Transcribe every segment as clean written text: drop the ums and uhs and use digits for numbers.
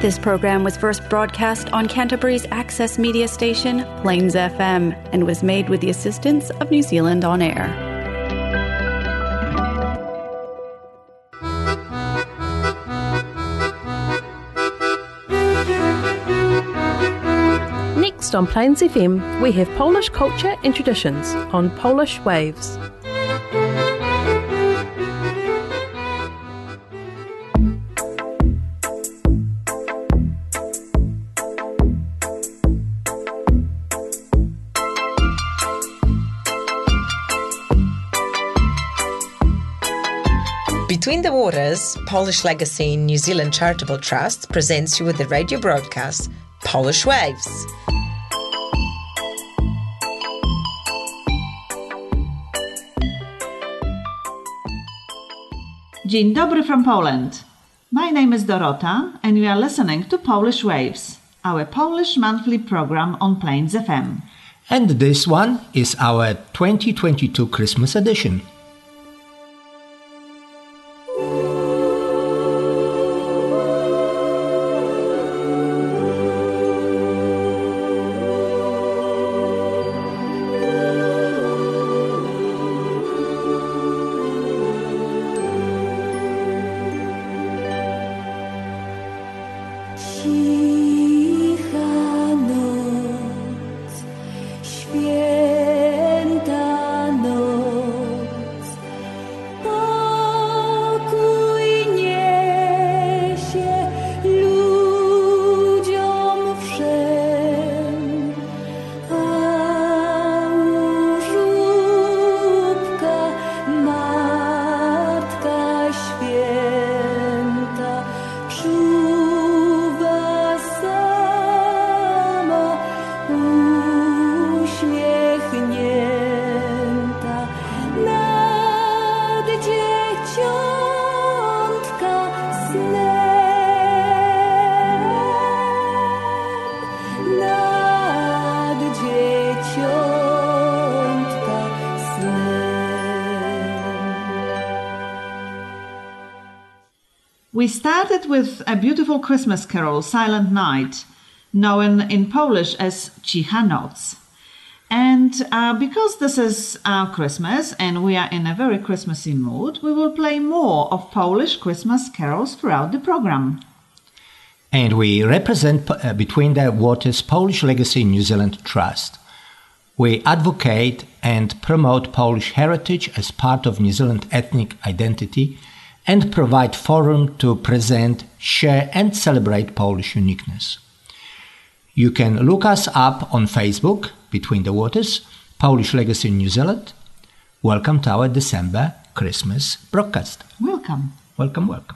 This program was first broadcast on Canterbury's access media station, Plains FM, and was made with the assistance of New Zealand On Air. Next on Plains FM, we have Polish culture and traditions on Polish Waves. Between the Waters, Polish Legacy New Zealand Charitable Trust presents you with the radio broadcast Polish Waves. Dzień dobry from Poland. My name is Dorota and you are listening to Polish Waves, our Polish monthly program on Plains FM. And this one is our 2022 Christmas edition. We started with a beautiful Christmas carol, Silent Night, known in Polish as Cicha Noc. And because this is Christmas and we are in a very Christmassy mood, we will play more of Polish Christmas carols throughout the program. And we represent Between the Waters Polish Legacy New Zealand Trust. We advocate and promote Polish heritage as part of New Zealand ethnic identity and provide forum to present, share and celebrate Polish uniqueness. You can look us up on Facebook, Between the Waters, Polish Legacy New Zealand. Welcome to our December Christmas broadcast. Welcome. Welcome, welcome.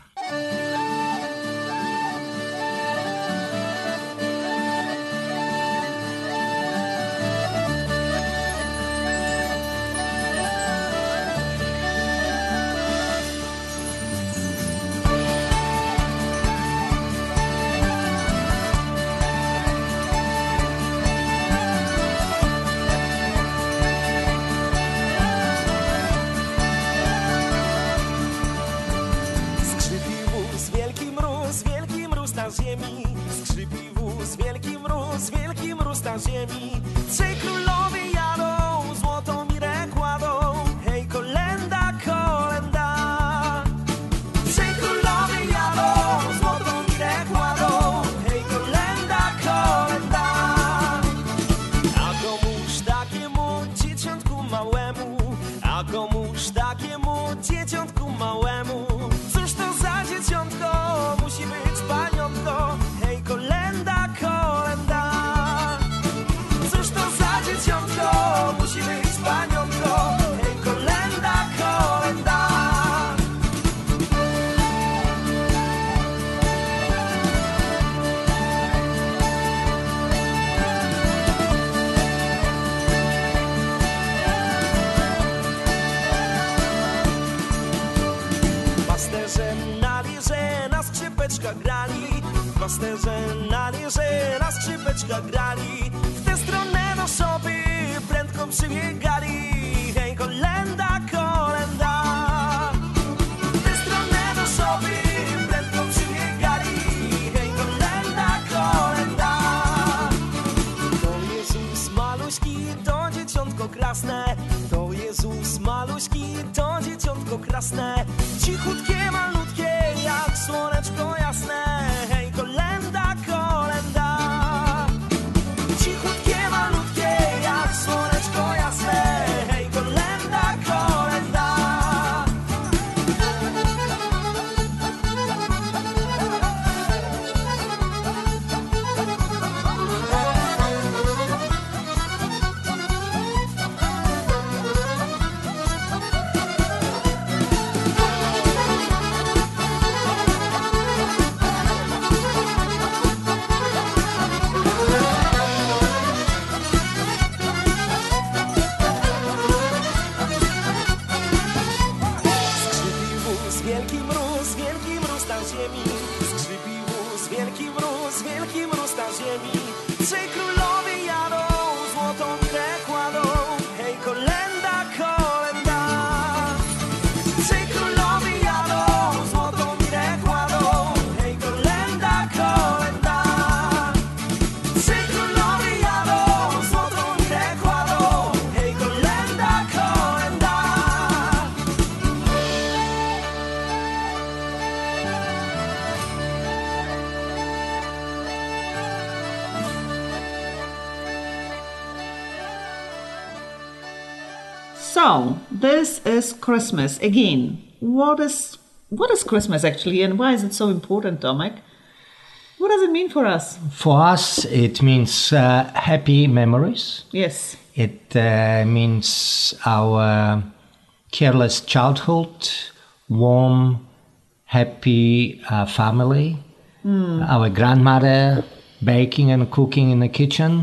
Wielki mróz na ziemi. Trzej królowie jadą, złotą mirę kładą. Hej, kolenda, kolenda. Trzej królowie jadą, złotą mirę kładą. Hej, kolenda, kolenda. A komuż takiemu dzieciątku małemu, a komuż takiemu dzieciątku małemu. Cóż to za dzieciątko, musi być paniątko. Hej, kolenda, kolenda. Cóż to za dzieciątko, musi być paniątko. Hej, kolenda, kolenda. Pasterze na lirze, na skrzypeczkach grali. Pasterze na lirze, na skrzypeczkach grali. W tę stronę do szopy prędko przybiegali. Hej, kolenda, kolenda. W tę stronę do szopy prędko przybiegali. Hej, kolenda. to krasne, cichutkie, malutkie, jak słoneczko jasne. Hej, kolenda, kolenda. Cichutkie, malutkie, jak słoneczko jasne. Hej, kolenda, kolenda. wielki mróz na ziemi. Skrzypi wóz, wielki mróz na ziemi. Trzej królowie jadą, złotą mirę kładą. Hej, kolenda, kolenda. Trzej królowie jadą, złotą mirę kładą. Hej, kolenda, kolenda. Trzej królowie jadą, złotą mirę kładą. Hej, kolenda, kolenda. So, this is Christmas again. What is Christmas actually, and why is it so important, Tomek? What does it mean for us? For us, it means happy memories. Yes. It means our careless childhood, warm, happy family, our grandmother baking and cooking in the kitchen,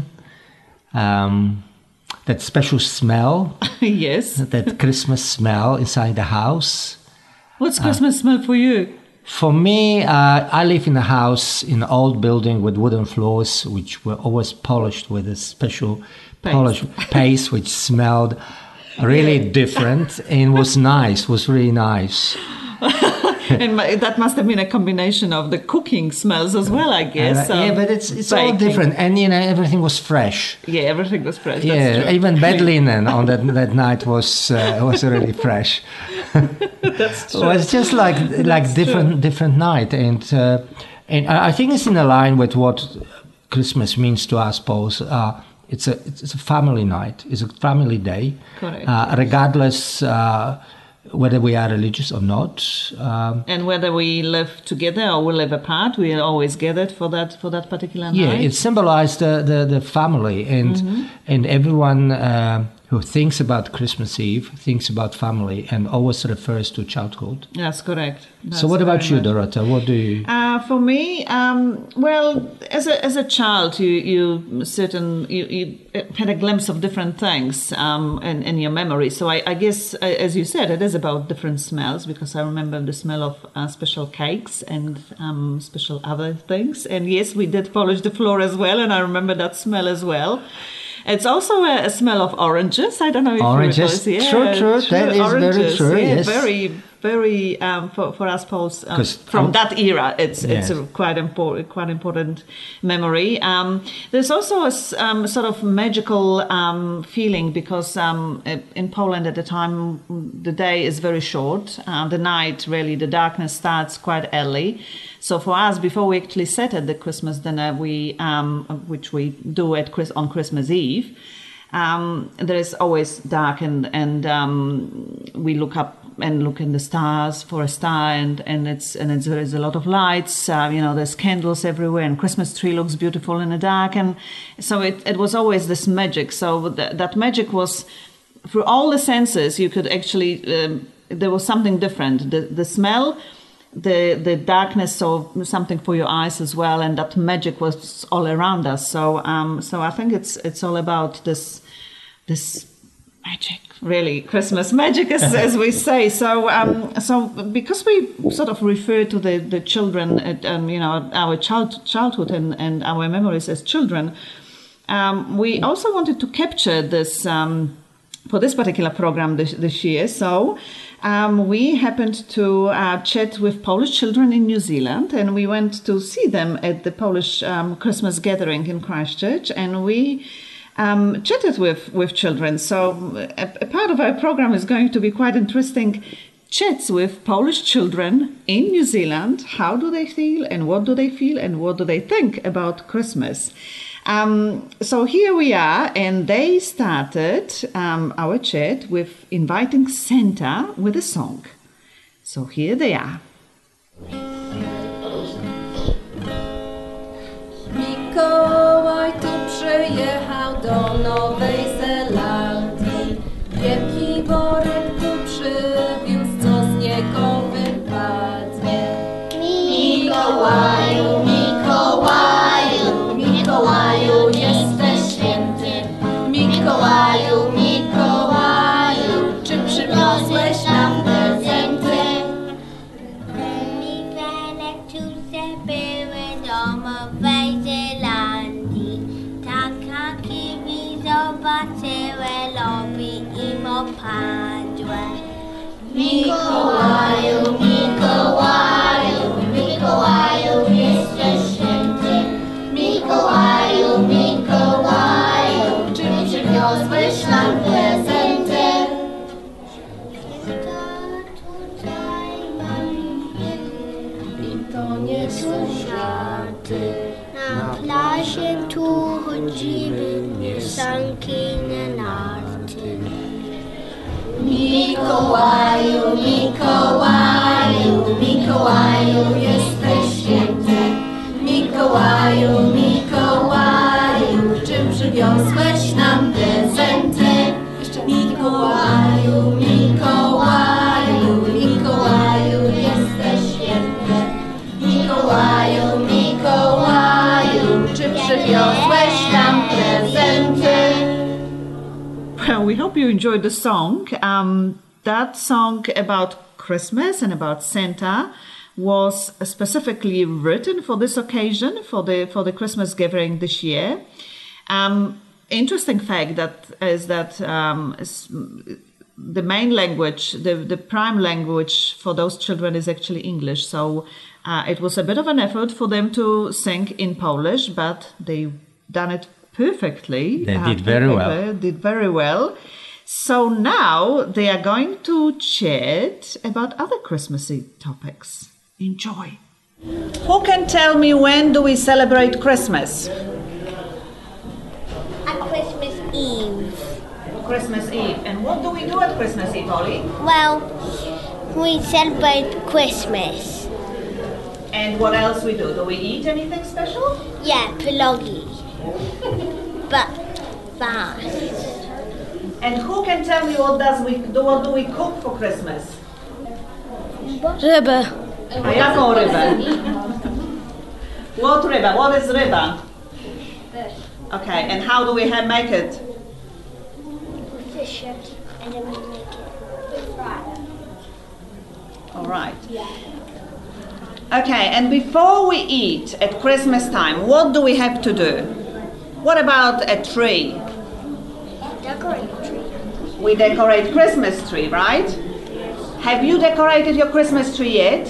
that special smell, Yes. that Christmas smell inside the house. What's Christmas smell for you? For me, I live in a house in an old building with wooden floors, which were always polished with a special polish paste, which smelled really different and was nice, was really nice. And that must have been a combination of the cooking smells as well, I guess. Yeah, but it's all baking. different, and everything was fresh. Yeah, everything was fresh. Yeah, That's true. even bed linen on that night was really fresh. That's true. It was just like different night, and I think it's in line with what Christmas means to us, Paul. It's a family night. It's a family day. Correct. Regardless whether we are religious or not. And whether we live together or we live apart, we are always gathered for that particular night. Yeah, it symbolized the family, and everyone who thinks about Christmas Eve thinks about family and always refers to childhood. That's correct. So what about you, Dorota? What do you... For me, well, as a child, you had a glimpse of different things in your memory. So I guess, as you said, it is about different smells, because I remember the smell of special cakes and special other things. And yes, we did polish the floor as well, and I remember that smell as well. It's also a smell of oranges. I don't know if Oranges, you recall. true. That is oranges, very true. Yeah, Yes, very for us Poles from that era. It's a quite important memory. There's also a sort of magical feeling, because in Poland at the time the day is very short. The night, really, the darkness starts quite early. So for us, before we actually sat at the Christmas dinner, which we do on Christmas Eve, there is always dark, and we look up and look in the stars for a star, and there is a lot of lights. There's candles everywhere, and Christmas tree looks beautiful in the dark, and so it was always this magic. So that magic was through all the senses. You could actually there was something different. The smell. The darkness, so something for your eyes as well, and that magic was all around us. So I think it's all about this magic, really, Christmas magic, as we say. So because we sort of refer to the children, our childhood and our memories as children, we also wanted to capture this for this particular program this year. So. We happened to chat with Polish children in New Zealand, and we went to see them at the Polish Christmas gathering in Christchurch, and we chatted with children. So a part of our program is going to be quite interesting, chats with Polish children in New Zealand. How do they feel and what do they feel and what do they think about Christmas? So here we are, and they started our chat with inviting Santa with a song. So here they are. Mikołaj tu przyjechał do Nowej Zelandii. Wielki worek tu przywiózł, co z niego wypadnie. Mikołaju, Mikołaju, Mikołaju, jesteś święty. Mikołaju, Mikołaju, czy przywiozłeś nam prezenty? Nowej Zelandii. Taka kiwi zobaczyły, lubi im opadłe. Mikołaju, Mikołaju, Mikołaju, jesteś święty. Mikołaju, Mikołaju, czy przywiozłeś nam prezenty? I to nie są żarty. Na plaży tu chodzimy, sanki na narty. Mikołaju, Mikołaju, Mikołaju, jesteś święty. Mikołaju, Mikołaju, czym przywiozłeś nam prezenty? Mikołaju, Mikołaju, Mikołaju, jesteś święty. Mikołaju, Mikołaju, czy przywiozłeś nam prezenty? Well, we hope you enjoyed the song. That song about Christmas and about Santa was specifically written for this occasion, for the Christmas gathering this year. Interesting fact is that the main language, the prime language for those children is actually English. So it was a bit of an effort for them to sing in Polish, but they done it perfectly. They did very well. Did very well. So now they are going to chat about other Christmassy topics. Enjoy. Who can tell me when do we celebrate Christmas? At Christmas Eve. Christmas Eve. And what do we do at Christmas Eve, Ollie? Well, we celebrate Christmas. And what else we do? Do we eat anything special? Yeah, pierogi. But fast. And who can tell me what do we cook for Christmas? Rybę. A jaką rybę? What ryba? What is ryba? Fish. Okay, and how do we make it? We fish it and then we make it. Fry it. All right. Yeah. Okay, and before we eat at Christmas time, what do we have to do? What about a tree? Decorate the tree. We decorate Christmas tree, right? Have you decorated your Christmas tree yet?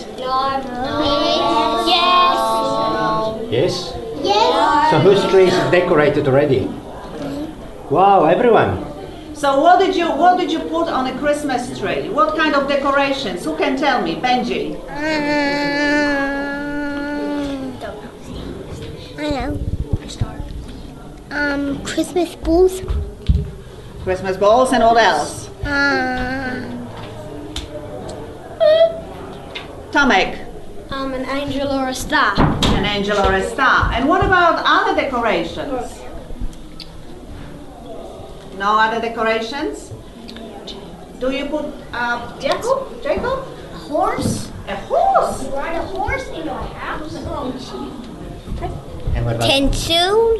Yes. Yes? Yes. So whose tree is decorated already? Wow, everyone. So what did you put on a Christmas tree? What kind of decorations? Who can tell me? Benji. I know. Christmas balls. Christmas balls, and what else? Tomek. An angel or a star. An angel or a star. And what about other decorations? No other decorations? Do you put Jacob? A horse. A horse? Ride a horse into a house. And what about? Tinsel.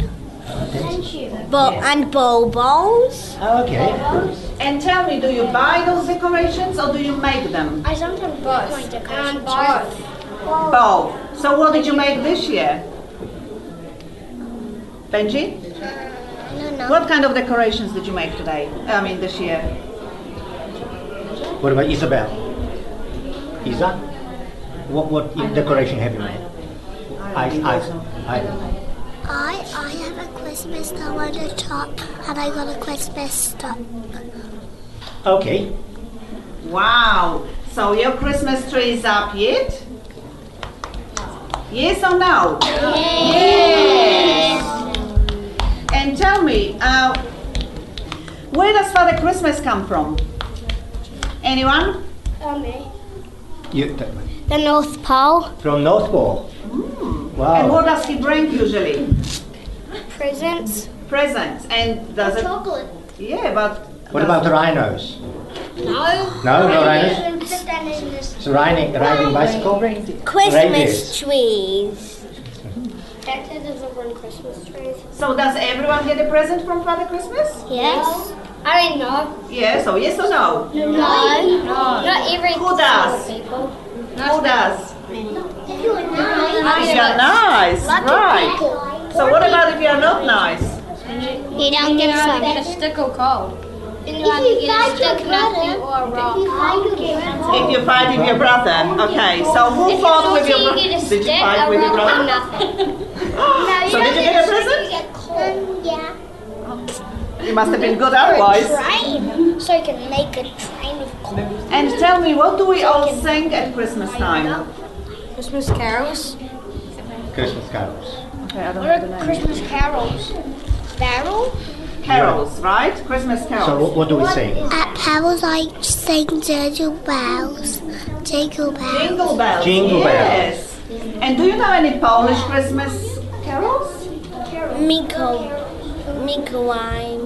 And bulbos. Okay. And tell me, do you buy those decorations or do you make them? I sometimes buy my decorations. Both. So what did you make this year? Benji? I don't know. What kind of decorations did you make today? This year? What about Isabel? Isa? What decoration have you made? I have a Christmas star on the top, and I got a Christmas star. Okay. Wow. So your Christmas tree is up yet? Yes or no? Yes. And tell me, where does Father Christmas come from? Anyone? Me. The North Pole. From North Pole. Wow. And what does he bring usually? Presents. Presents. And does it? Chocolate. Yeah, but. What about the rhinos? No. No, no rhinos. Put that in this. It's a riding bicycle? Christmas Reindeers. trees. Santa doesn't run Christmas trees. So does everyone get a present from Father Christmas? Yes. I didn't know. Yeah, so yes or no? No. Not every Who does? people. Who does? If you're nice. If you're nice, right. So what about if you're not nice? You don't get some. Get a stick or cold. Then you If have you to get a fight your stick, nothing, brother, or a rock. If you fight with your brother, okay. So who If fought with you your brother? get a Did stick, you fight a with your rock, or brother? nothing. So did you get a present? Yeah. You must have been good otherwise. Train. So you can make a train of coal. And tell me, what do we all sing at Christmas time? Christmas carols. Christmas carols. Okay, I don't What know the are name. Christmas carols? Barrel? Carols, right? Christmas So carols. what do we sing? At Powell's I sing Jingle Bells. Jingle Bells. Jingle bells. Jingle Yes. And do you know any Polish Christmas carols? Mikołaj,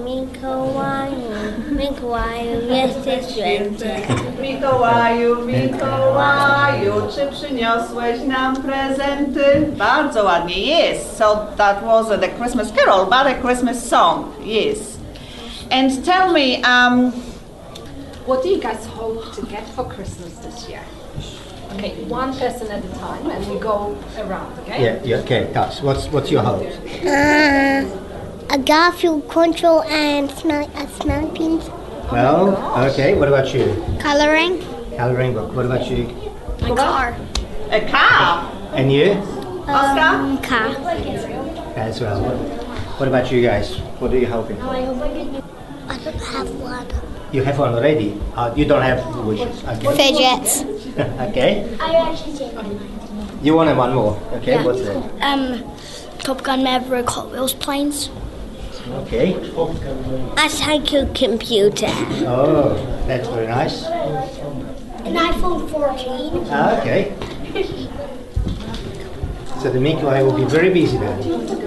jesteś święty. Mikołaju, Mikołaju, czy przyniosłeś nam prezenty? Bardzo ładnie, yes. So that was the Christmas carol, but a Christmas song, yes. And tell me, What do you guys hope to get for Christmas this year? Okay, one person at a time, and we go around. Okay. Yeah, okay, guys, what's your hope? A Garfield control and smelling pins. Well, okay, what about you? Coloring. Coloring book, what about you? A car. a car. And you? Oscar? Car. As well. What about you guys? What are you hoping for? I don't have one. You have one already? You don't have wishes, okay. Fidgets. Okay. I actually did. You wanted one more, okay, what's that? Top Gun Maverick Hot Wheels planes. Okay. A cycle computer. Oh, that's very nice. An iPhone 14. Okay. So the Mikołaj will be very busy then.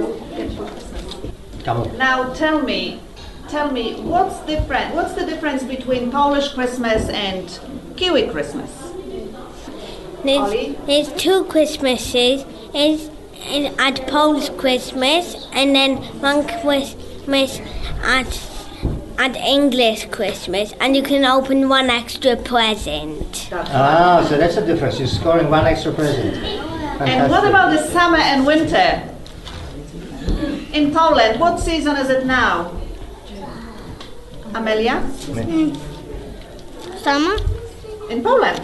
Come on. Now tell me, what's the difference between Polish Christmas and Kiwi Christmas? Ollie? There's two Christmases. It's at Polish Christmas and then one Christmas at English Christmas, and you can open one extra present. Ah, so that's the difference. You're scoring one extra present. And what about the summer and winter? In Poland, what season is it now? Amelia? Summer? In Poland?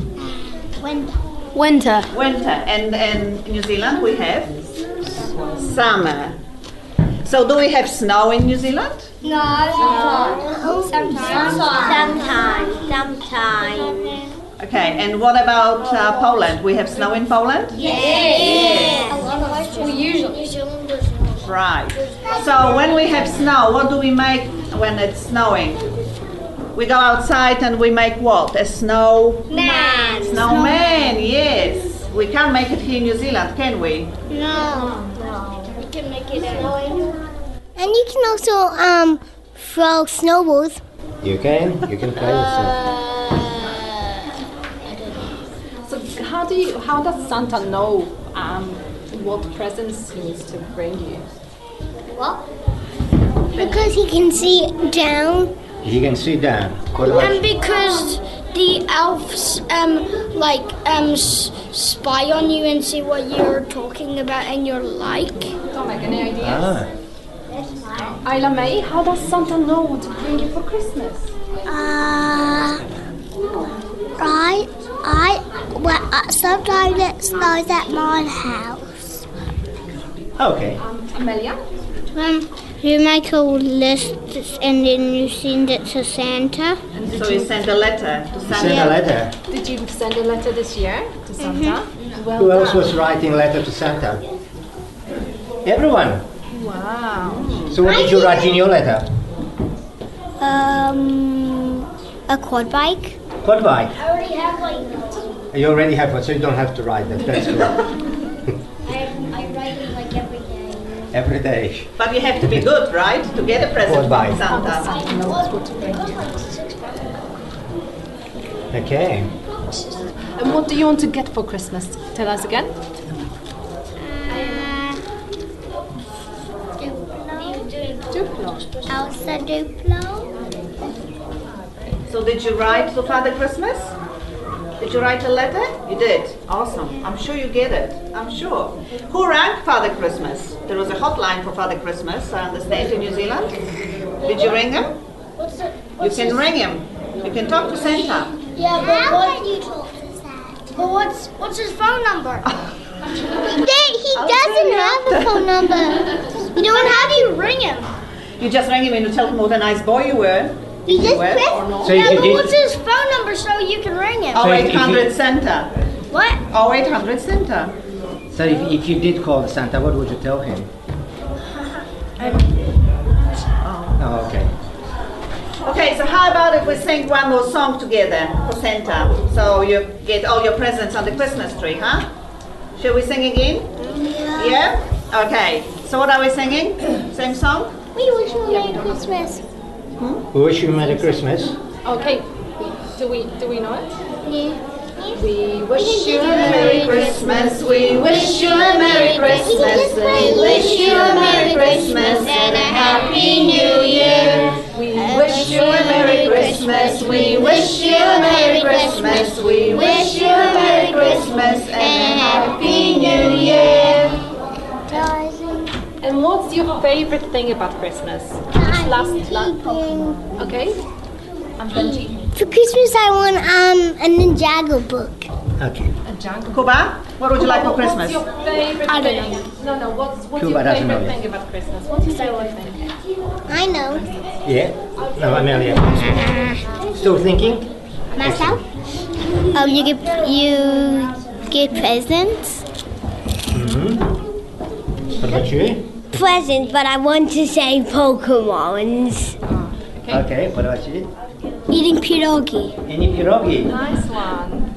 Winter. Winter. And in New Zealand we have? Summer. So do we have snow in New Zealand? No. Sometimes. Sometimes. Okay, and what about Poland? We have snow in Poland? Yeah. We usually. Right. So when we have snow, what do we make when it's snowing? We go outside and we make what? A snowman, yes. We can't make it here in New Zealand, can we? No. You can make it snowing. And you can also throw snowballs. You can play with them. So how does Santa know what presents he needs to bring you? What? Because he can see down. You can sit down. What about And because the elves spy on you and see what you're talking about and you're like. Don't make any ideas. Isla May, how does Santa know what to bring you for Christmas? Sometimes it snows at my house. Okay. Amelia? You make a list and then you send it to Santa. So you send a letter to Santa. Send a letter. Did you send a letter this year to Santa? Well Who else done. was writing letter to Santa? Everyone. Wow. So what did you write in your letter? A quad bike. Quad bike. I already have one. You already have one, so you don't have to write that. That's good. I write it like every day. Every day. But you have to be good, right? To get a present Quad bike. from Santa. Okay. And what do you want to get for Christmas? Tell us again. Elsa Duplo. So did you write to Father Christmas? Did you write a letter? You did. Awesome. I'm sure you get it. I'm sure. Who rang Father Christmas? There was a hotline for Father Christmas, I understand, in New Zealand. Did you ring him? You can ring him. You can talk to Santa. Yeah, but how can you talk to Santa? But what's his phone number? He doesn't have a phone number. You know, and how do you ring him? You just ring him and you tell him what a nice boy you were. You just Where press. or not? So if you did- What's his phone number so you can ring him? Oh, if you- 0800 Santa. What? 0800 Santa. So if you did call Santa, what would you tell him? Oh, okay. Okay, so how about if we sing one more song together for Santa? So you get all your presents on the Christmas tree, huh? Shall we sing again? Yeah? Okay. So what are we singing? Same song? We wish you a Merry Christmas. We wish you a Merry Christmas. Okay. Do we know it? Yeah. We wish you a Merry Christmas. We wish you a Merry Christmas. We wish you a Merry Christmas and a Happy New Year. We wish you a Merry Christmas. We wish you a Merry Christmas. We wish you a Merry Christmas and a Happy New Year. And what's your favorite thing about Christmas? Okay. And Benji? For Christmas, I want a Ninjago book. Okay. A jungle. Kuba, what would you like for Christmas? What's your favorite I don't thing? No. What's Kuba your doesn't know favorite yet. thing about Christmas? What's your favorite thing? I know. Yeah? No, Amelia. Still thinking? Myself? You get presents. What about you? Presents, but I want to say Pokemons. Okay, what about you? Eating pierogi. Any pierogi? Nice one.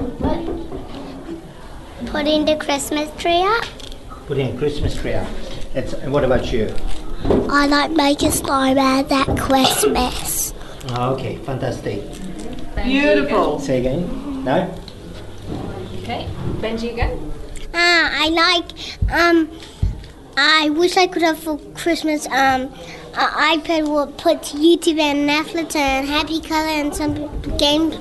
Putting the Christmas tree up. Putting a Christmas tree up. And what about you? I like making snowman at Christmas. Okay, fantastic. Beautiful. Say again? No? Okay. Benji again? I like, I wish I could have for Christmas, an iPad will put YouTube and Netflix and Happy Color and some games.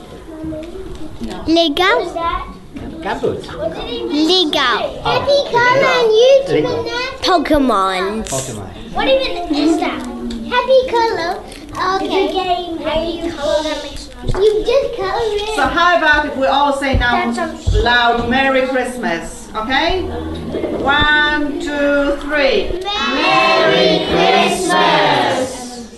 Lego? Gambut. Lego. Happy Color and YouTube Lego. and Netflix. Pokemons. Pokemon. What even is that? Happy Color. Okay. Game. Happy Color. That makes no sense. You just color it. So how about if we all say now That's loud Merry Christmas, okay? 1, 2, 3. Merry Christmas!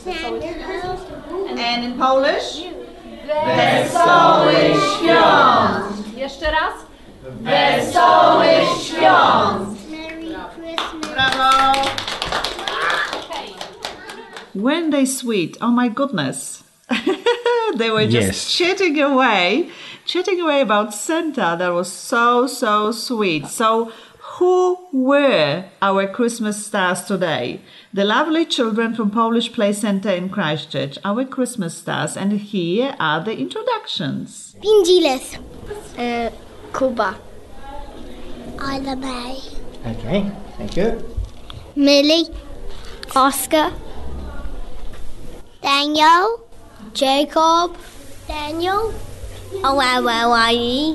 And in Polish? Wesołych Świąt! Jeszcze raz? Wesołych Świąt! Merry Christmas. Brawo! Weren't they sweet? Oh my goodness. They were just Yes. chatting away about Santa. That was so sweet. So who were our Christmas stars today? The lovely children from Polish Play Center in Christchurch, our Christmas stars. And here are the introductions. Pingiles. Kuba. Isla May. Okay, thank you. Millie. Oscar. Daniel. Jacob. Daniel. Ollie.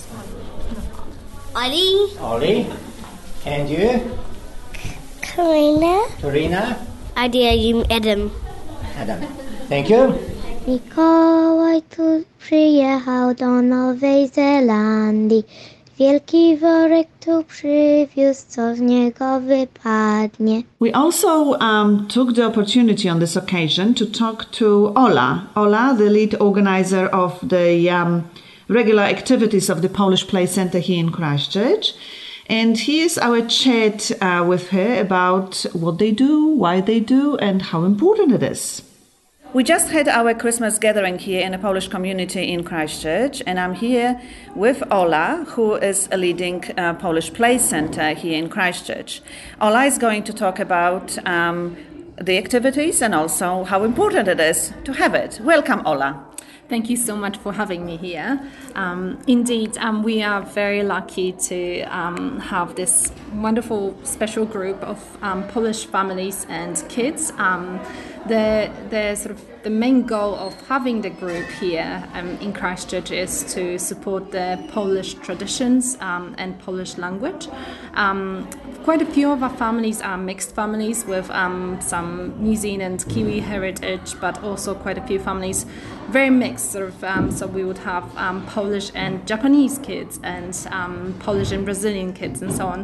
Ollie. And you? Karina. Torina? Adam. Adam. Thank you. Mikołaj tu przyjechał do Nowej Zelandii. wielki worek tu przywiózł, co z niego wypadnie. We also took the opportunity on this occasion to talk to Ola. Ola, the lead organizer of the regular activities of the Polish Play Center here in Christchurch. And here's our chat with her about what they do, why they do, and how important it is. We just had our Christmas gathering here in a Polish community in Christchurch, and I'm here with Ola, who is leading Polish Play Center here in Christchurch. Ola is going to talk about the activities and also how important it is to have it. Welcome, Ola. Thank you so much for having me here. Indeed, we are very lucky to have this wonderful special group of Polish families and kids. The main goal of having the group here in Christchurch is to support the Polish traditions and Polish language. Quite a few of our families are mixed families with some New Zealand Kiwi heritage, but also quite a few families very mixed. So we would have Polish and Japanese kids and Polish and Brazilian kids and so on.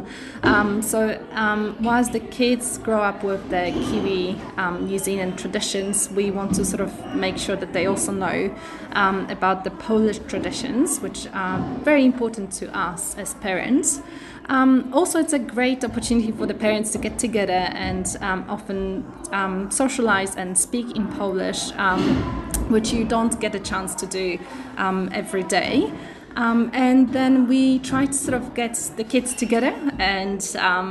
Whilst the kids grow up with the Kiwi New Zealand traditions, we want to sort of make sure that they also know about the Polish traditions, which are very important to us as parents. Also, it's a great opportunity for the parents to get together and often socialize and speak in Polish, which you don't get a chance to do every day. And then we try to sort of get the kids together and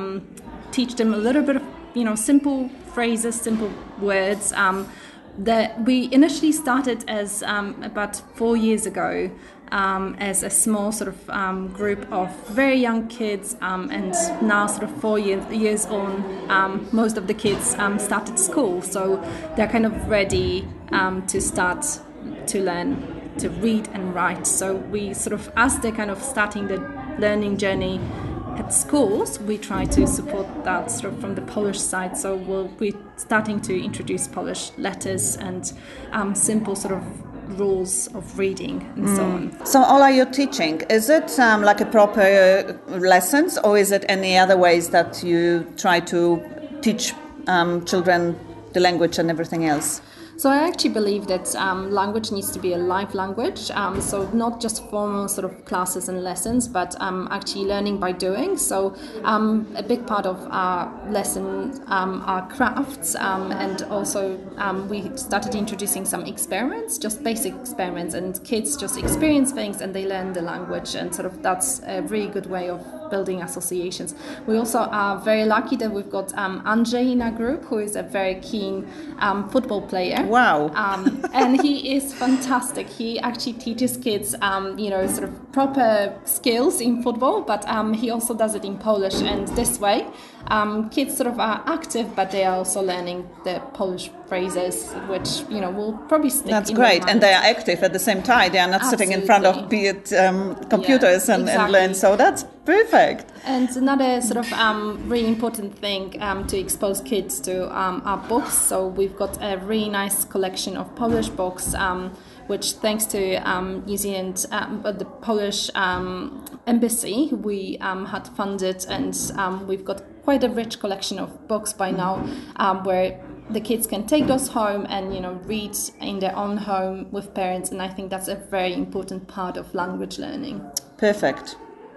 teach them a little bit of, simple phrases, simple words. That we initially started as about 4 years ago as a small sort of group of very young kids, and now sort of 4 years on, most of the kids started school, so they're kind of ready to start to learn to read and write. So we sort of, as they're kind of starting the learning journey at schools, we try to support that sort of from the Polish side. So we're starting to introduce Polish letters and simple sort of rules of reading and so on. So Ola, you're teaching, is it like a proper lessons, or is it any other ways that you try to teach children the language and everything else? So I actually believe that language needs to be a live language, so not just formal sort of classes and lessons, but actually learning by doing. So a big part of our lesson are crafts, and also we started introducing some experiments, just basic experiments, and kids just experience things and they learn the language, and sort of that's a really good way of building associations. We also are very lucky that we've got Andrzej in our group, who is a very keen football player. Wow. And he is fantastic. He actually teaches kids, sort of proper skills in football, but he also does it in Polish. And this way, kids sort of are active, but they are also learning the Polish phrases, which, will probably stick. That's great. And they are active at the same time. They are not sitting in front of computers and learn. So that's perfect. And another sort of really important thing to expose kids to are books. So we've got a really nice collection of Polish books, which thanks to New Zealand, the Polish embassy, we had funded, and we've got quite a rich collection of books by now, where the kids can take those home and read in their own home with parents, and I think that's a very important part of language learning. Perfect.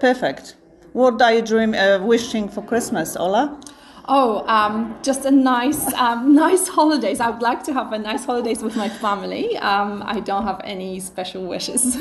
What are you wishing for Christmas, Ola? Just a nice holidays. I would like to have a nice holidays with my family. I don't have any special wishes.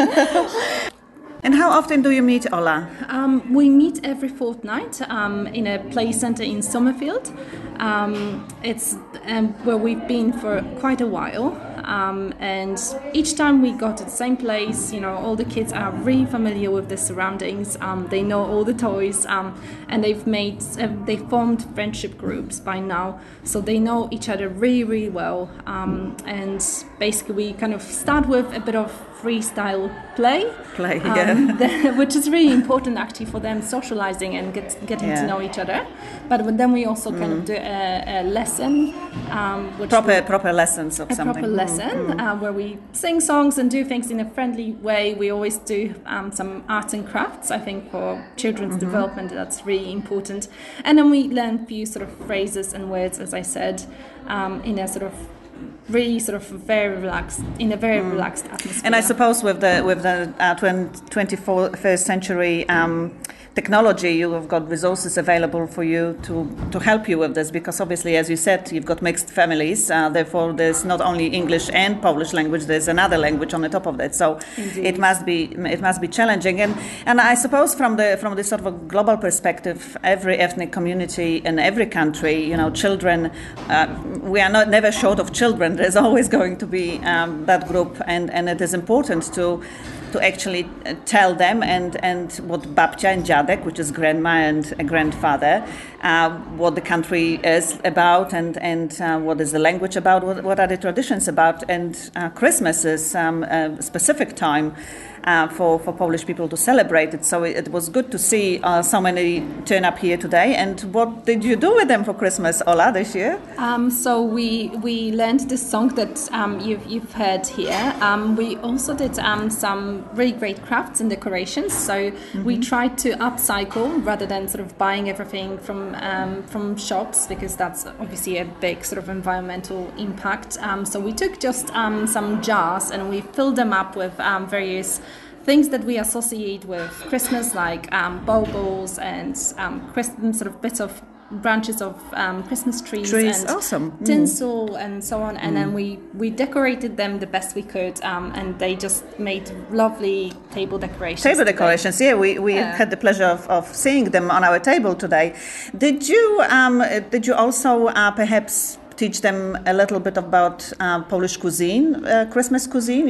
And how often do you meet, Ola? We meet every fortnight in a play center in Summerfield. It's where we've been for quite a while. And each time we go to the same place, all the kids are really familiar with the surroundings. They know all the toys, and they formed friendship groups by now, so they know each other really, really well. And basically, we kind of start with a bit of freestyle play, which is really important actually for them socializing and getting to know each other. But then we also kind of do a lesson, proper lessons of something. Proper lesson where we sing songs and do things in a friendly way. We always do some arts and crafts. I think for children's development that's really important. And then we learn a few sort of phrases and words, as I said, in a sort of really sort of very relaxed atmosphere. And I suppose with the 21st century technology, you have got resources available for you to help you with this, because obviously, as you said, you've got mixed families. Therefore, there's not only English and Polish language. There's another language on the top of that. So it must be challenging. And I suppose from the sort of a global perspective, every ethnic community in every country, children, we are never short of children. There's always going to be that group, and it is important to actually tell them and what babcia and dziadek, which is grandma and a grandfather, what the country is about and what is the language about, what are the traditions about. And Christmas is a specific time for Polish people to celebrate it. So it was good to see so many turn up here today. And what did you do with them for Christmas, Ola, this year? So we learned this song that you've heard here. We also did some really great crafts and decorations. So we tried to upcycle rather than sort of buying everything from shops, because that's obviously a big sort of environmental impact. So we took just some jars and we filled them up with various things that we associate with Christmas, like baubles and sort of bits of branches of Christmas trees and awesome. Tinsel and so on. And then we decorated them the best we could, and they just made lovely table decorations. Yeah, we had the pleasure of seeing them on our table today. Did you also perhaps teach them a little bit about Polish cuisine, Christmas cuisine,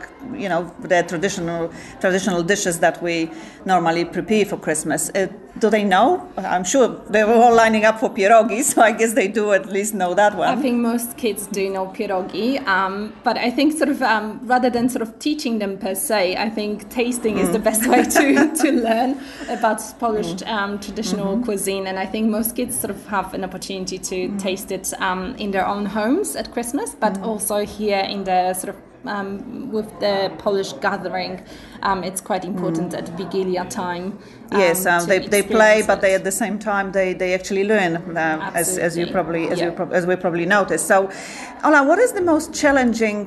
the traditional dishes that we normally prepare for Christmas? Do they know? I'm sure they were all lining up for pierogi, so I guess they do at least know that one. I think most kids do know pierogi, but I think sort of rather than sort of teaching them per se, I think tasting is the best way to learn about Polish traditional cuisine. And I think most kids sort of have an opportunity to taste it in their own homes at Christmas, but also here in the sort of with the Polish gathering, it's quite important at Vigilia time. Yes, they play, but they at the same time they actually learn, as we probably noticed. So, Ola, what is the most challenging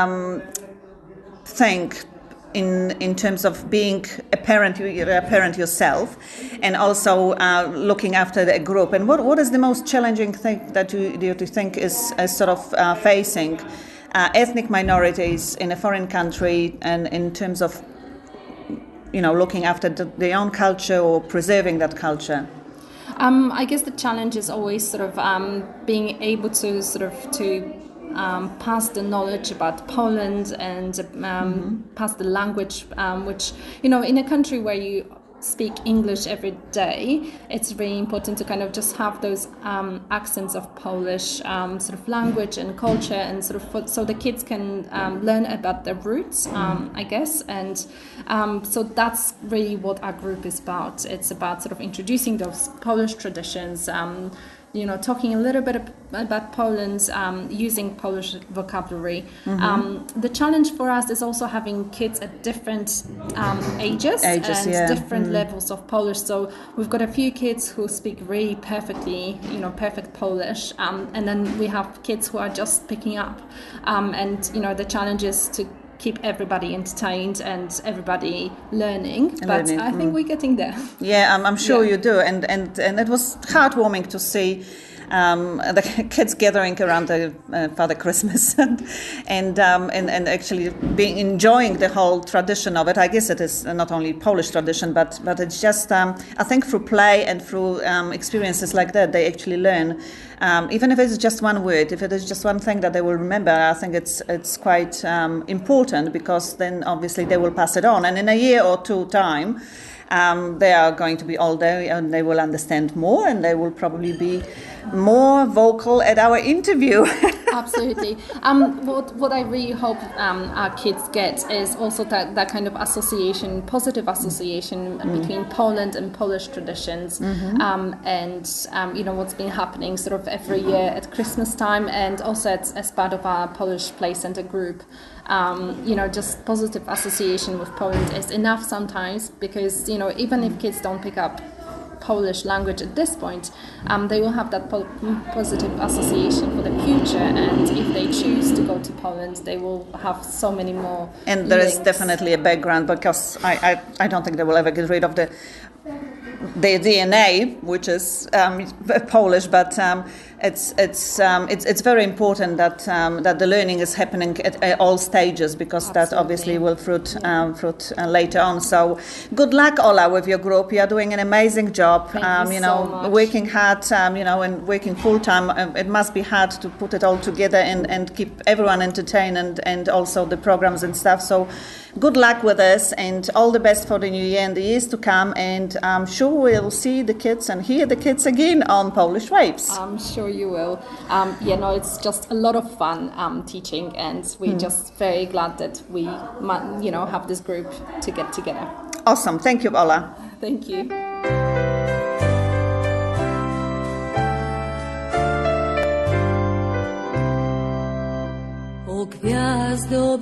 thing in terms of being a parent? You're a parent yourself, and also looking after the group. And what is the most challenging thing that you think is sort of facing ethnic minorities in a foreign country, and in terms of looking after their own culture or preserving that culture? I guess the challenge is always sort of being able to pass the knowledge about Poland and pass the language, which in a country where you speak English every day, it's really important to kind of just have those accents of Polish sort of language and culture, and sort of so the kids can learn about their roots, I guess. And so that's really what our group is about. It's about sort of introducing those Polish traditions, talking a little bit about Poland, using Polish vocabulary. The challenge for us is also having kids at different ages and different levels of Polish. So we've got a few kids who speak really perfectly, perfect Polish, and then we have kids who are just picking up. And the challenge is to keep everybody entertained and everybody learning. But I think we're getting there. Yeah, I'm sure you do. And it was heartwarming to see the kids gathering around the Father Christmas and actually enjoying the whole tradition of it. I guess it is not only Polish tradition, but it's just I think through play and through experiences like that, they actually learn. Even if it's just one word, if it is just one thing that they will remember, I think it's quite important, because then obviously they will pass it on. And in a year or two time, they are going to be older and they will understand more, and they will probably be more vocal at our interview. Absolutely. What I really hope our kids get is also that kind of association, positive association between Poland and Polish traditions, and what's been happening sort of every year at Christmas time, and also as part of our Polish Play Center group. Just positive association with Poland is enough sometimes, because even if kids don't pick up Polish language at this point, they will have that positive association for the future, and if they choose to go to Poland, they will have so many more and there links. is definitely a background, because I don't think they will ever get rid of the DNA, which is Polish, but it's very important that the learning is happening at all stages, because that obviously will fruit later on. So good luck, Ola, with your group. You are doing an amazing job. Thank you so much. Working hard, and working full time. It must be hard to put it all together and keep everyone entertained and also the programs and stuff. So good luck with this, and all the best for the new year and the years to come. And I'm sure we'll see the kids and hear the kids again on Polish Waves. I'm sure you will. It's just a lot of fun teaching, and we're just very glad that we have this group to get together. Awesome. Thank you, Ola. Thank you. O gwiazdo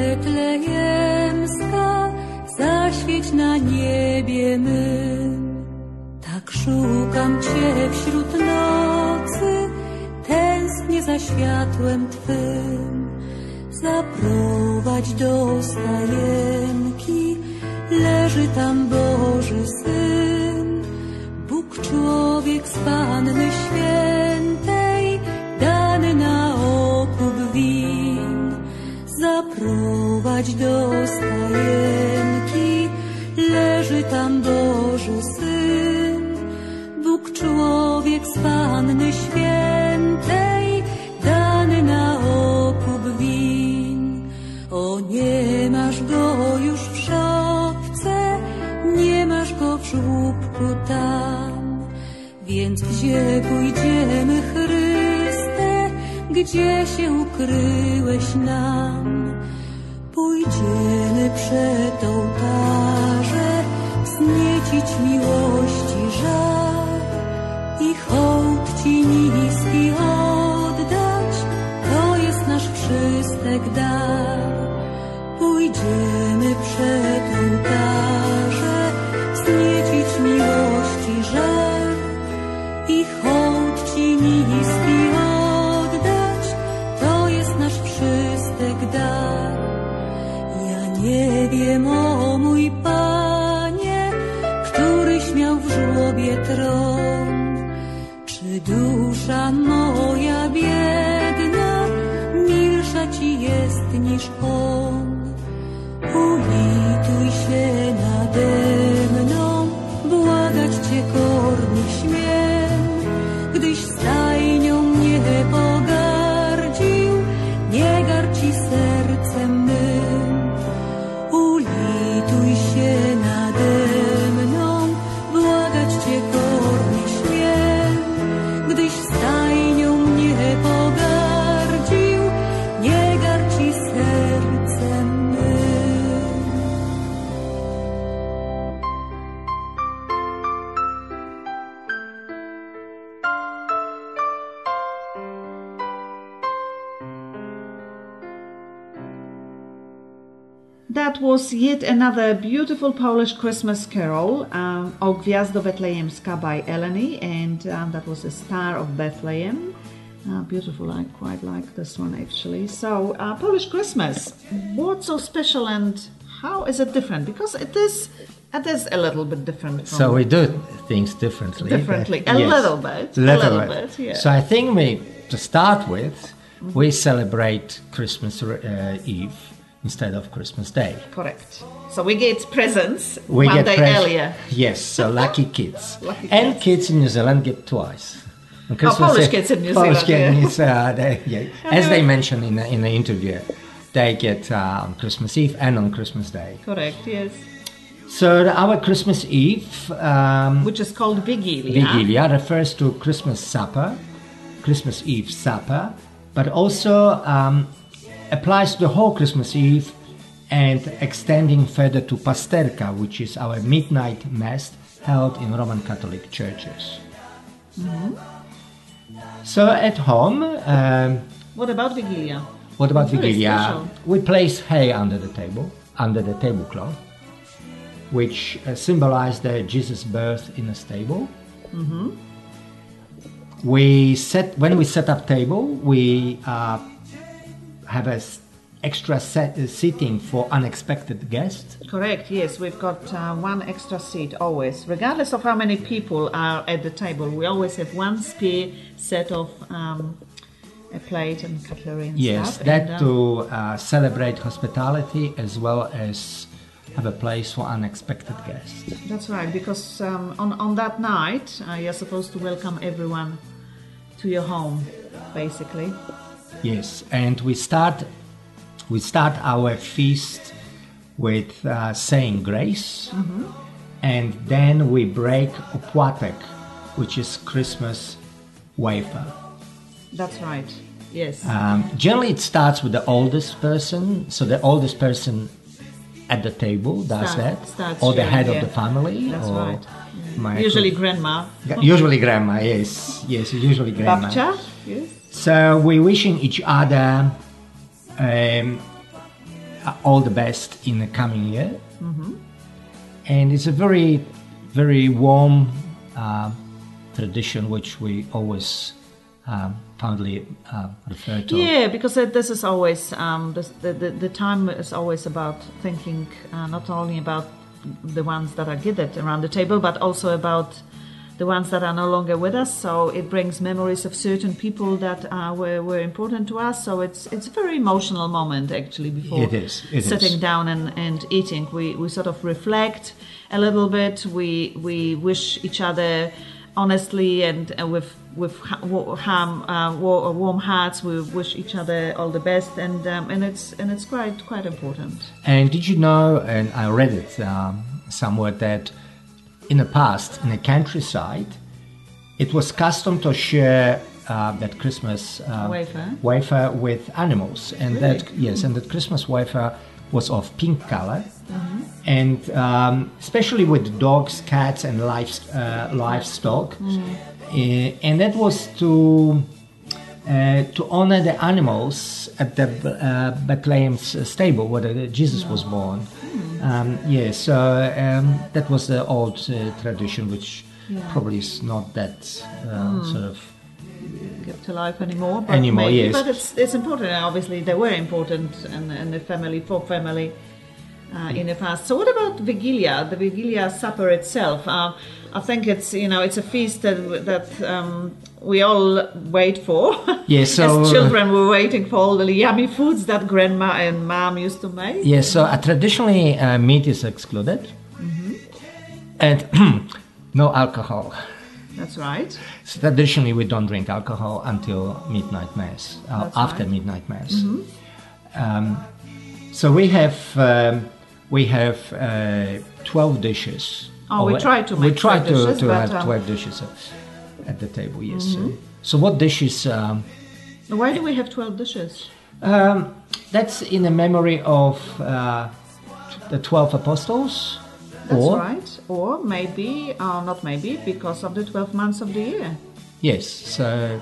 betlejemska, zaświeć na niebie mym. Tak szukam Cię wśród nocy, tęsknię za światłem Twym. Zaprowadź do stajenki, leży tam Boży Syn. Bóg człowiek z Panny Świętej, dany na okup win. Zaprowadź do stajenki, leży tam Boży Syn. Bóg człowiek z Panny Świętej, dany na okup win. O, nie masz go już w szopce, nie masz go w żłóbku tam. Więc gdzie pójdziemy, Chryste, gdzie się ukryłeś nam? Pójdziemy przed ołtarze, wzniecić miłości żar i hołd Ci niski oddać, to jest nasz wszystek dar. Pójdziemy przed ołtarze, wzniecić miłości żar i hołd Ci niski oddać, to jest nasz wszystek dar. Ja nie wiem, o mój Panie, któryś miał w żłobie tron, czy dusza moja biedna milsza Ci jest niż On. Ulituj się nade mną, błagać Cię kornie śmiem, gdyś stajnią mnie pogardził, nie gardź Ci sercem mym. Ulituj się nade mną, błagać Cię kornie śmiem, gdyś stajnią mnie pogardził, nie gardź Ci sercem mym. That was yet another beautiful Polish Christmas carol, O Gwiazdo Betlejemska by Eleni, and that was the Star of Bethlehem. Beautiful, I quite like this one actually. So, Polish Christmas, what's so special and how is it different? Because it is a little bit different. From So we do things differently. A little bit. Yeah. So I think to start with, we celebrate Christmas Eve instead of Christmas Day. Correct. So we get presents We one get day earlier. Yes, so lucky kids. Lucky And kids. kids in New Zealand get twice. On Polish kids in New Polish Zealand, kids, as they mentioned in the interview, they get on Christmas Eve and on Christmas Day. Correct, yes. So our Christmas Eve, Which is called Vigilia. Vigilia, refers to Christmas supper, Christmas Eve supper, but also applies to the whole Christmas Eve and extending further to Pasterka, which is our midnight mass held in Roman Catholic churches. So at home... what about Vigilia? What about Very Vigilia? special. We place hay under the tablecloth, which symbolize the Jesus' birth in a stable. When we set up table, we have a extra seating for unexpected guests. Correct, yes. We've got one extra seat always. Regardless of how many people are at the table, we always have one spare set of a plate and cutlery and Yes, stuff. that to celebrate hospitality as well as have a place for unexpected guests. That's right, because on that night, you're supposed to welcome everyone to your home, basically. Yes, and we start our feast with saying grace, and then we break opłatek, which is Christmas wafer. That's right, yes. Generally, it starts with the oldest person, so the oldest person at the table does that, or the head of the family. That's or right. Usually grandma. Usually grandma, yes, usually grandma. Babcia, yes. So we're wishing each other all the best in the coming year. And it's a very, very warm tradition which we always fondly refer to. Yeah, because this is always, the time is always about thinking not only about the ones that are gathered around the table, but also about the ones that are no longer with us. So it brings memories of certain people that were important to us. So it's a very emotional moment actually before sitting down and eating. We sort of reflect a little bit. We wish each other honestly and with warm hearts. We wish each other all the best, and it's quite important. And did you know? And I read it somewhere that in the past, in the countryside, it was custom to share that Christmas wafer with animals, and Really? that Christmas wafer was of pink color, and especially with dogs, cats, and livestock, and that was to honor the animals at the Bethlehem's stable where Jesus was born. That was the old tradition, which probably is not that sort of kept alive anymore. But yes. But it's important. Obviously, they were important in the family, for family in the past. So what about Vigilia, the Vigilia supper itself? I think it's a feast that we all wait for. Yes, so as children, we're waiting for all the yummy foods that grandma and mom used to make. Yes, so traditionally meat is excluded, and no alcohol. That's right. So traditionally, we don't drink alcohol until midnight mass. After midnight mass. So we have 12 dishes. We try to make 12 dishes. We try to have 12 dishes at the table. Yes. So what dishes? Why do we have 12 dishes? That's in a memory of the 12 apostles. That's right. Or maybe, not maybe, because of the 12 months of the year. Yes. So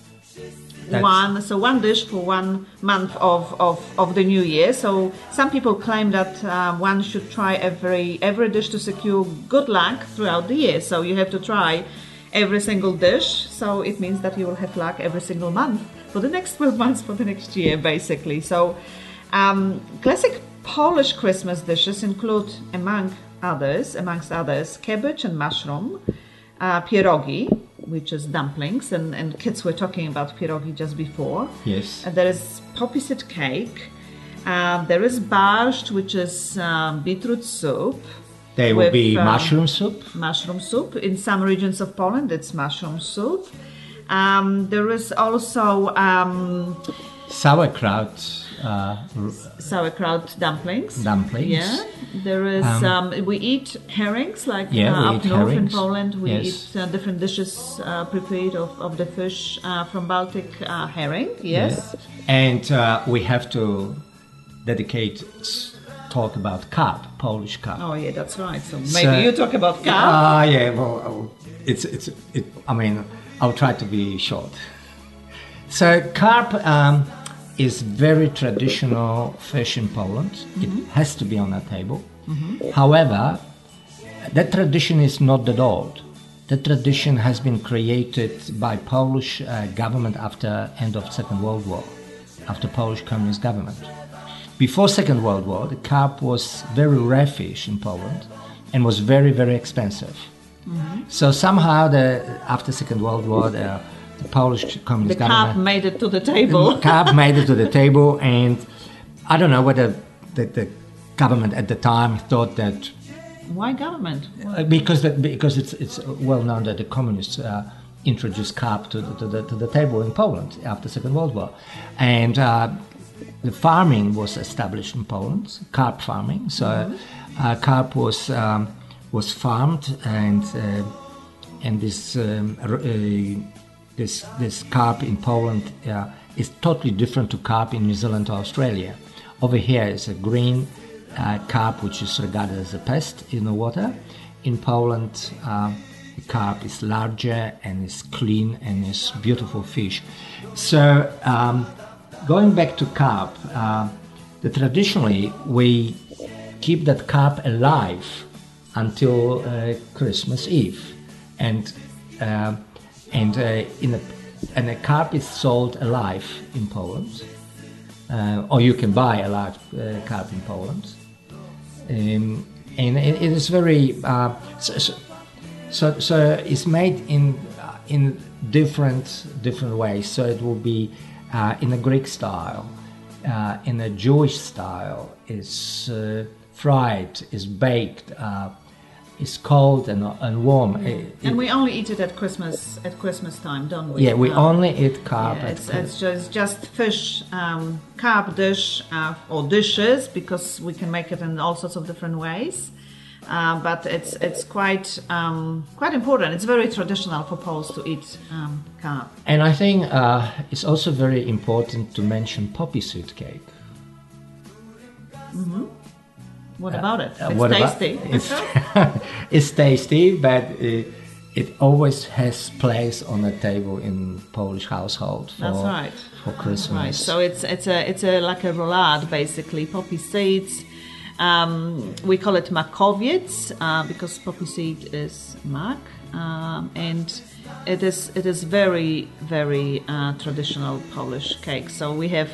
one dish for 1 month of the new year. So some people claim that one should try every dish to secure good luck throughout the year. So you have to try every single dish. So it means that you will have luck every single month for the next 12 months for the next year, basically. So classic Polish Christmas dishes include, amongst others, cabbage and mushroom, pierogi, which is dumplings, and kids were talking about pierogi just before. Yes. And there is poppy seed cake. There is barszcz, which is beetroot soup. There will be mushroom soup. Mushroom soup. In some regions of Poland, it's mushroom soup. There is also sauerkraut. sauerkraut dumplings. Dumplings. Yeah. There is. We eat herrings, like we up eat north herrings. in Poland. We Yes. eat different dishes prepared of the fish from Baltic herring. Yes. And we have to talk about carp, Polish carp. Oh yeah, that's right. So maybe you talk about carp. Yeah. Well, I mean, I'll try to be short. So carp is very traditional fish in Poland. It has to be on the table. However, that tradition is not that old. That tradition has been created by Polish government after end of Second World War, after Polish Communist government. Before Second World War, the carp was very rare fish in Poland and was very, very expensive. So somehow, after Second World War, the Polish Communist government... The carp made it to the table. Carp made it to the table, and I don't know whether the government at the time thought that... Why government? Because it's well known that the communists introduced carp to the table in Poland after Second World War, and the farming was established in Poland, carp farming. So carp was farmed, and this carp in Poland is totally different to carp in New Zealand or Australia. Over here is a green carp, which is regarded as a pest in the water. In Poland, the carp is larger and is clean and is beautiful fish. So going back to carp, traditionally we keep that carp alive until Christmas Eve, and a carp is sold alive in Poland, or you can buy a live carp in Poland, and it is very so it's made in different ways. So it will be in a Greek style, in a Jewish style, is fried, is baked, is cold and warm. And we only eat it at Christmas time, don't we? Yeah, we only eat carp. Yeah, it's just fish, carp dish or dishes, because we can make it in all sorts of different ways. But it's quite important. It's very traditional for Poles to eat carp. And I think it's also very important to mention poppy seed cake. Mm-hmm. What about it? It's tasty. It's tasty, but it always has place on the table in Polish household for Christmas. Right. So it's like a roulade, basically. Poppy seeds. We call it makowiec because poppy seed is mak, and it is very, very traditional Polish cake. So we have.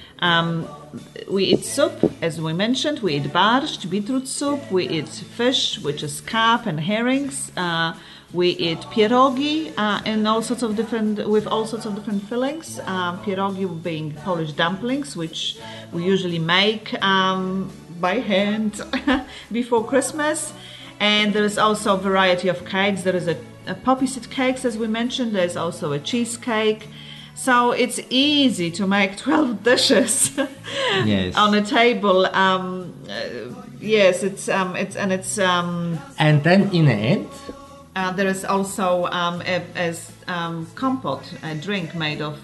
We eat soup, as we mentioned. We eat barszcz, beetroot soup. We eat fish, which is carp and herrings. We eat pierogi with all sorts of different fillings. Pierogi being Polish dumplings, which we usually make by hand before Christmas. And there is also a variety of cakes. There is a poppy seed cakes, as we mentioned. There's also a cheesecake. So it's easy to make 12 dishes on a table. Yes, it's and then in the end, there is also compote, a drink made of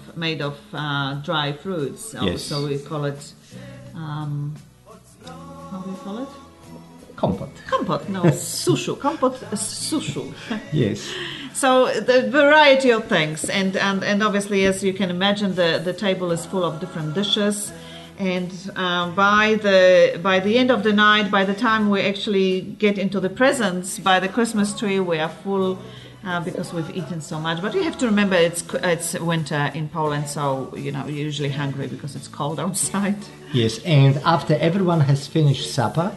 dry fruits. Yes. So we call it. How do we call it? Compote. No, sushu. Compote, sushu. Yes. So the variety of things, and obviously, as you can imagine, the table is full of different dishes, and by the end of the night, by the time we actually get into the presents, by the Christmas tree, we are full because we've eaten so much. But you have to remember, it's winter in Poland, so you're usually hungry because it's cold outside. Yes, and after everyone has finished supper,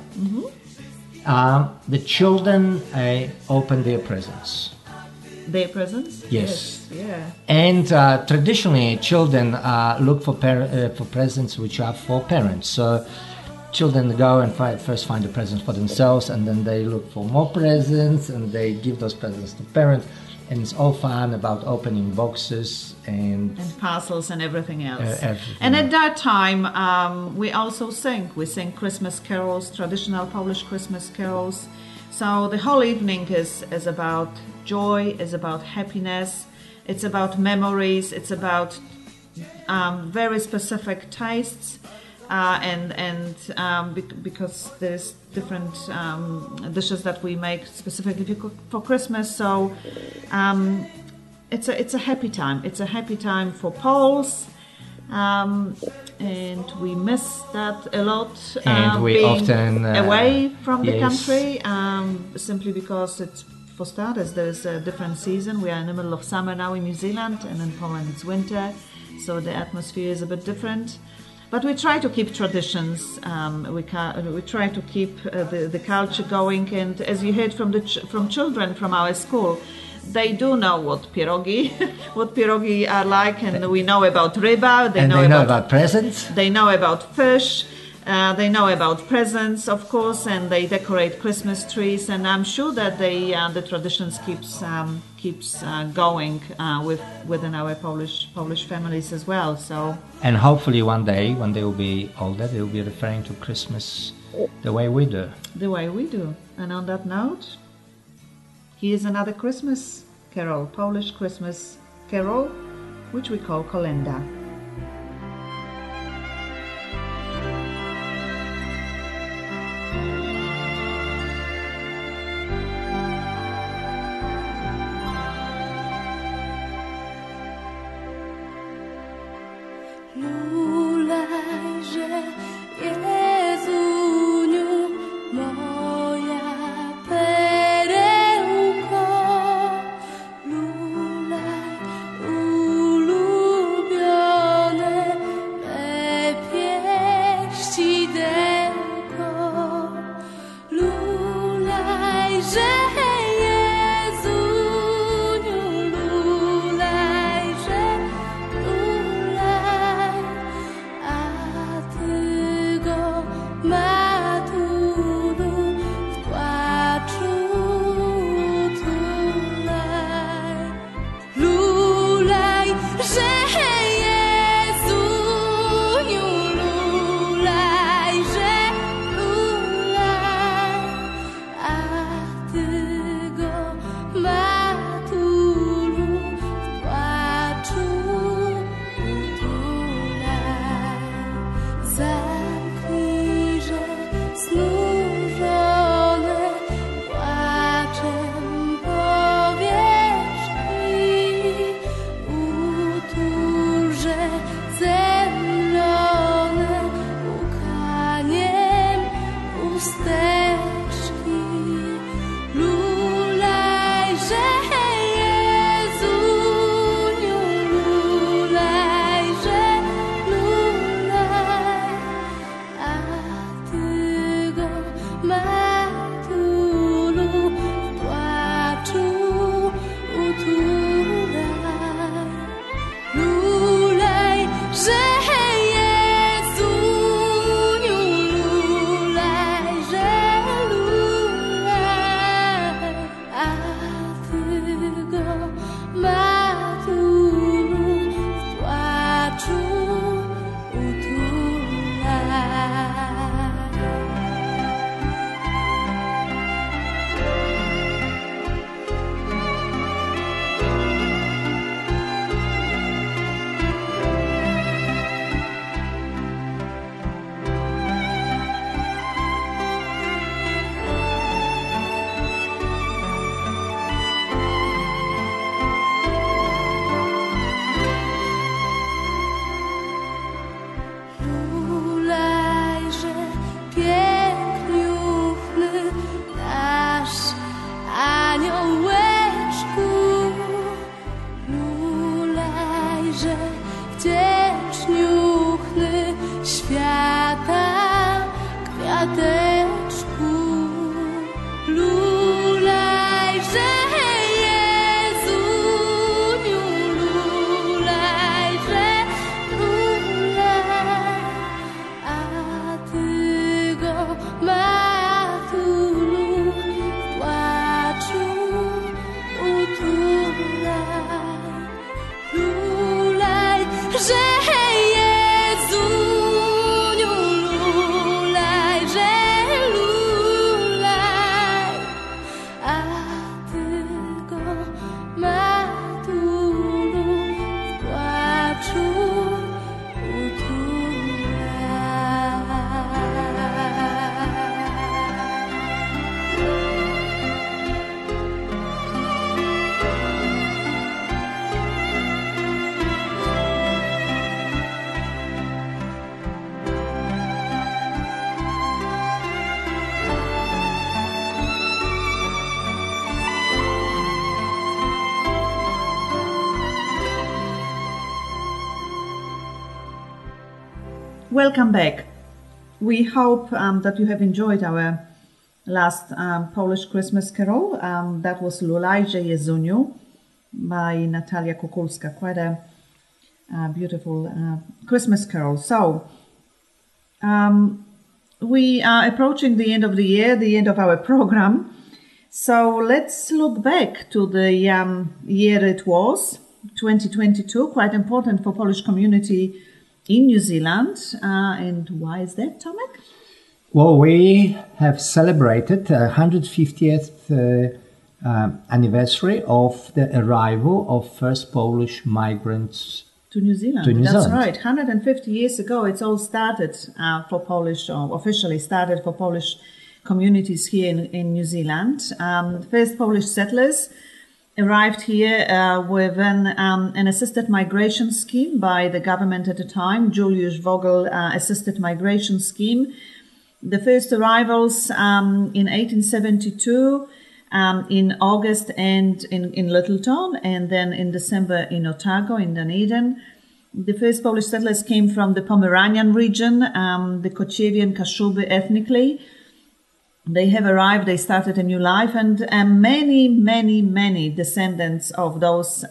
the children open their presents. Their presents? Yes. Yeah. And traditionally, children look for presents which are for parents. So children go and first find the presents for themselves, and then they look for more presents, and they give those presents to parents. And it's all fun about opening boxes and parcels and everything else. Everything. And at that time, we also sing. We sing Christmas carols, traditional Polish Christmas carols. So the whole evening is about joy, is about happiness. It's about memories. It's about very specific tastes. Because there's different dishes that we make specifically for Christmas, so it's a happy time. It's a happy time for Poles, and we miss that a lot. And we being often away from the yes. country, simply because it's, for starters, there's a different season. We are in the middle of summer now in New Zealand, and in Poland it's winter, so the atmosphere is a bit different. But we try to keep traditions. We try to keep the culture going. And as you heard from children from our school, they do know what pierogi are like, and we know about ryba. They know about presents. They know about fish. They know about presents, of course, and they decorate Christmas trees. And I'm sure that the traditions keeps going within our Polish families as well. So. And hopefully one day, when they will be older, they will be referring to Christmas the way we do. The way we do. And on that note, here's another Christmas carol, Polish Christmas carol, which we call Kolenda. że Jezuniu lulaj, że lulaj, a ty go, matulu, w płaczu Welcome back. We hope that you have enjoyed our last Polish Christmas carol. That was Lulajże Jezuniu by Natalia Kukulska. Quite a beautiful Christmas carol. So, we are approaching the end of the year, the end of our program. So let's look back to the year it was, 2022, quite important for Polish community in New Zealand. And why is that, Tomek? Well, we have celebrated 150th anniversary of the arrival of first Polish migrants to New Zealand. That's right. 150 years ago, it's all started for Polish, or officially started for Polish communities here in New Zealand. First Polish settlers arrived here with an assisted migration scheme by the government at the time, Juliusz Vogel assisted migration scheme. The first arrivals in 1872, in August and in Littleton, and then in December in Otago, in Dunedin. The first Polish settlers came from the Pomeranian region, the Kociewian Kashuby ethnically. They have arrived, they started a new life, and many descendants of those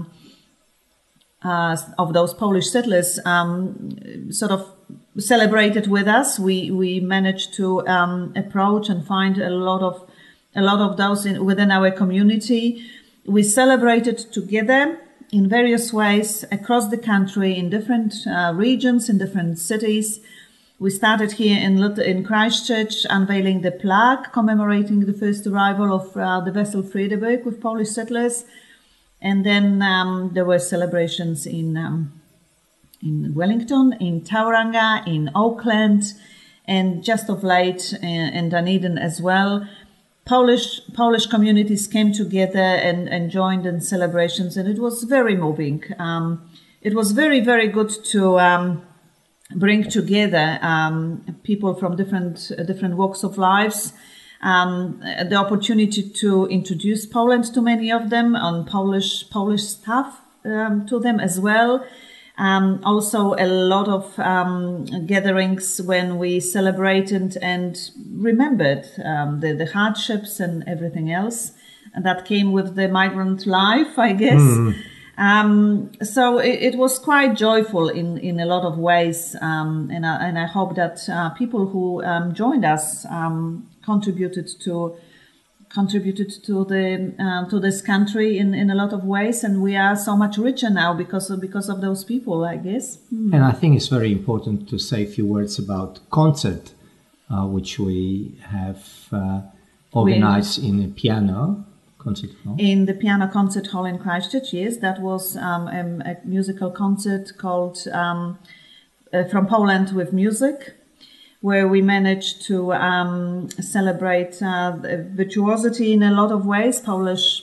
Polish settlers sort of celebrated with us. We managed to approach and find a lot of those within our community. We celebrated together in various ways across the country, in different regions, in different cities. We started here in Christchurch, unveiling the plaque commemorating the first arrival of the vessel Friedeburg with Polish settlers. And then there were celebrations in Wellington, in Tauranga, in Auckland, and just of late in Dunedin as well. Polish communities came together and joined in celebrations, and it was very moving. It was very, very good to bring together people from different walks of lives. The opportunity to introduce Poland to many of them, on Polish stuff to them as well. Also a lot of gatherings when we celebrated and remembered the hardships and everything else that came with the migrant life, I guess. So it was quite joyful in a lot of ways, and I hope that people who joined us contributed to this country in a lot of ways, and we are so much richer now because of those people, I guess. And I think it's very important to say a few words about concert, which we have organized in a piano concert hall. In the piano concert hall in Christchurch, yes, that was a musical concert called From Poland with Music, where we managed to celebrate virtuosity in a lot of ways, Polish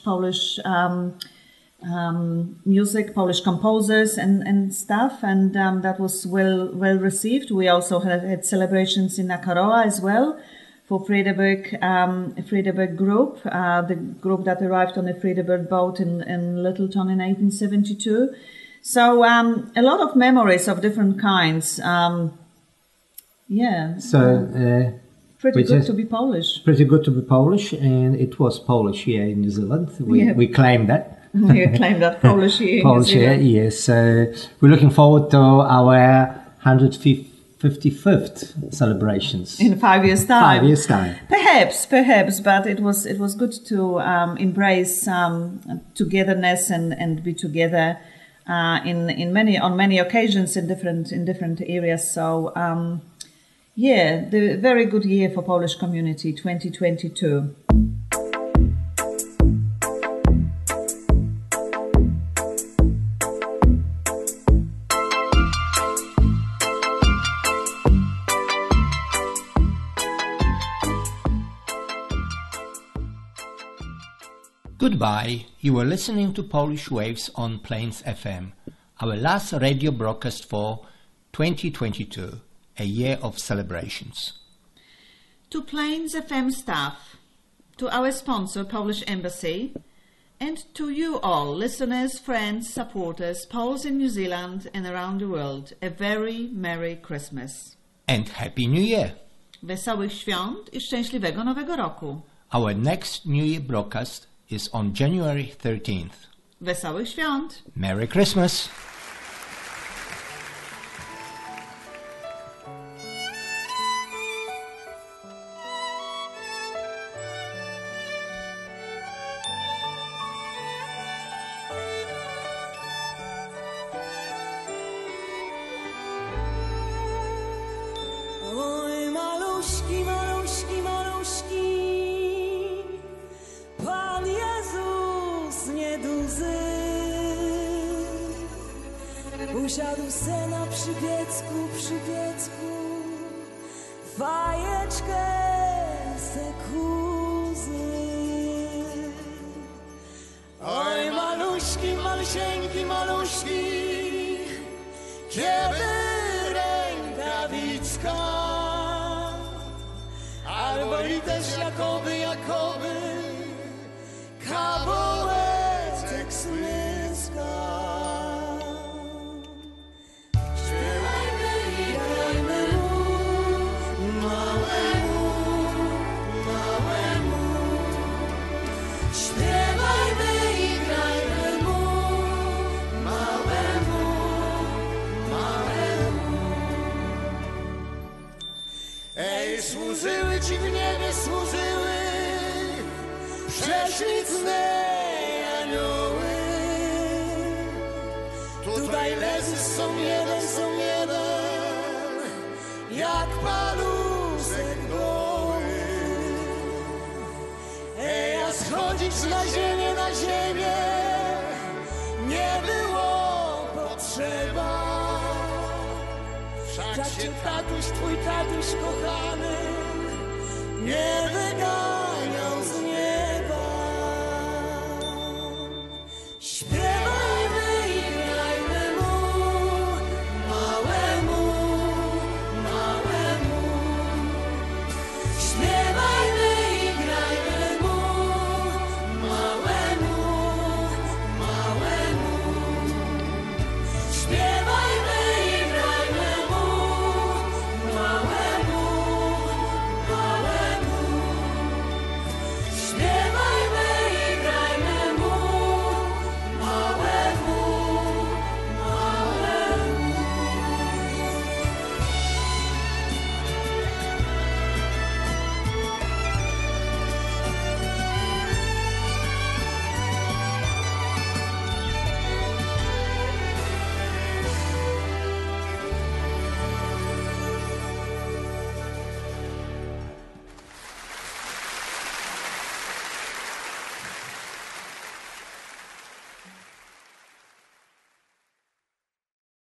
music, Polish composers and stuff, and that was well received. We also had celebrations in Nakaroa as well for Friedeburg group, the group that arrived on the Friedeburg boat in Littleton in 1872. So a lot of memories of different kinds. Pretty good to be Polish. Pretty good to be Polish, and it was Polish here in New Zealand. We claim that. We claim that Polish here in New Zealand. Yes. So we're looking forward to our 155th celebrations in 5 years' time. 5 years' time, perhaps, but it was good to embrace togetherness and be together in many occasions in different areas. So the very good year for Polish community 2022. Goodbye. You were listening to Polish Waves on Plains FM, our last radio broadcast for 2022, a year of celebrations. To Plains FM staff, to our sponsor, Polish Embassy, and to you all, listeners, friends, supporters, Poles in New Zealand and around the world, a very Merry Christmas. And Happy New Year. Wesołych świąt i szczęśliwego Nowego Roku. Our next New Year broadcast is on January 13th. Wesołych świąt! Merry Christmas! Oj, maluszki, maluszki, maluszki, Pan Jezus nieduzy usiadł se na przypiecku, fajeczkę se kuzy. Oj, maluszki, malusieńki, maluszki, kiedy rękawiczka, albo i też jakoby kabołeczek smyska. Śpiewajmy i grajmy mu, małemu, małemu. Śpiewajmy i grajmy mu, małemu, małemu. Ej, służyły ci w niebie, służyły prześliczne anioły. Tutaj leży są jeden, jak paluszek goły. Ej, a schodzić na ziemię, nie było potrzeba. Wszak cię tatuś, twój tatuś kochany, nie wygadał.